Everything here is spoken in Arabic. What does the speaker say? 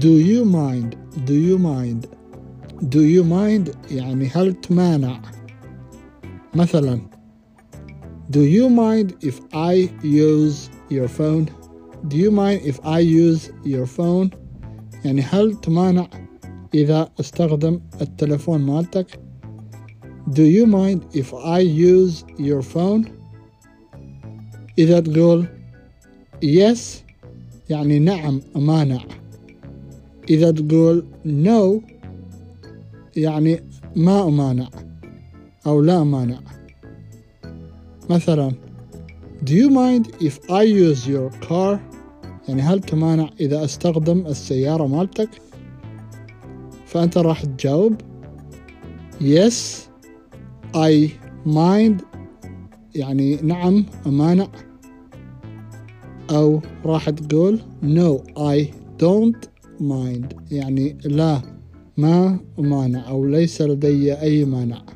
Do you mind do you mind do you mind يعني هل تمانع. مثلا Do you mind if I use your phone? Do you mind if I use your phone? يعني هل تمانع إذا استخدم التلفون مالتك؟ Do you mind if I use your phone? إذا تقول yes يعني نعم أمانع. إذا تقول no يعني ما أمانع أو لا أمانع. مثلا Do you mind if I use your car? يعني هل تمانع إذا أستخدم السيارة مالتك؟ فأنت راح تجاوب yes I mind يعني نعم أمانع، أو راح تقول no I don't mind يعني لا ما أمانع أو ليس لدي أي مانع.